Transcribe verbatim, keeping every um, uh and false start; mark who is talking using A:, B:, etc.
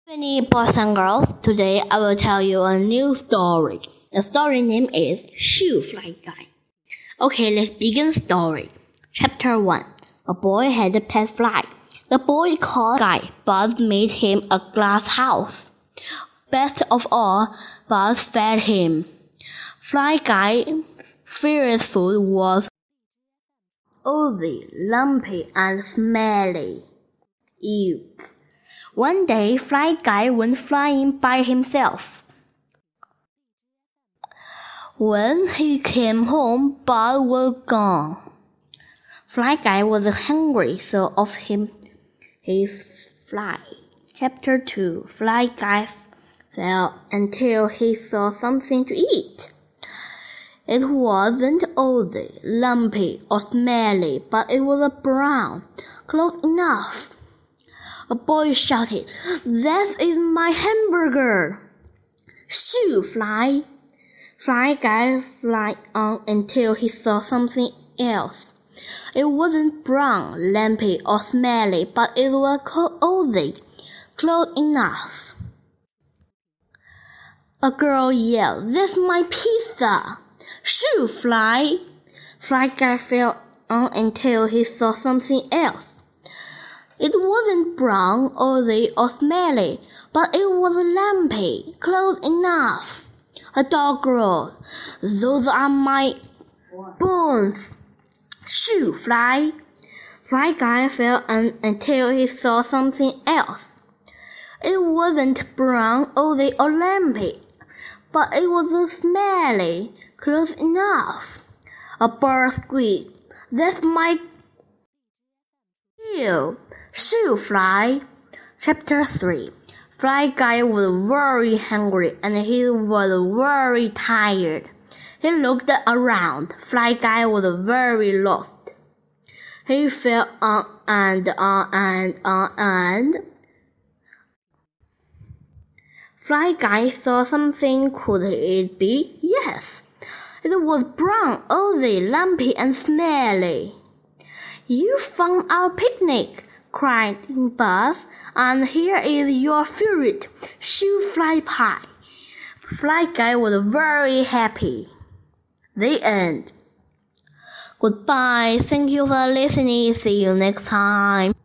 A: Many boys and girls, today I will tell you a new story. The story name is Shoe Fly Guy. Okay, let's begin the story. Chapter one. A boy had a pet fly. The boy called Guy. Buzz made him a glass house. Best of all, Buzz fed him. Fly Guy's favorite food was oily, lumpy, and smelly. Ew. One day, Fly Guy went flying by himself. When he came home, Buzz was gone. Fly Guy was hungry, so off him his fly. Chapter two. Fly Guy fell until he saw something to eat. It wasn't oily, lumpy, or smelly, but it was brown, close enough. A boy shouted, "That is my hamburger!" "Shoo, Fly!" Fly Guy flew on until he saw something else. It wasn't brown, lumpy, or smelly, but it was oily, close enough. A girl yelled, "That's my pizza!" "Shoo, Fly!" Fly Guy flew on until he saw something else. It wasn't brown, oily, or smelly, but it was lumpy, close enough. A dog roared, "Those are my bones!" "Shoo, Fly!" Fly Guy fell on until he saw something else. It wasn't brown, oily, or lumpy, but it was smelly, close enough. A bird squeaked, "That's my tail!" "Shoo, Fly!" Chapter three. Fly Guy was very hungry and he was very tired. He looked around. Fly Guy was very lost. He fell on and on and on and Fly Guy saw something. Could it be? Yes. It was brown, oily, lumpy, and smelly. "You found our picnic!" cried Buzz, "and here is your favorite Shoo Fly pie." Fly Guy was very happy. The end. Goodbye. Thank you for listening. See you next time.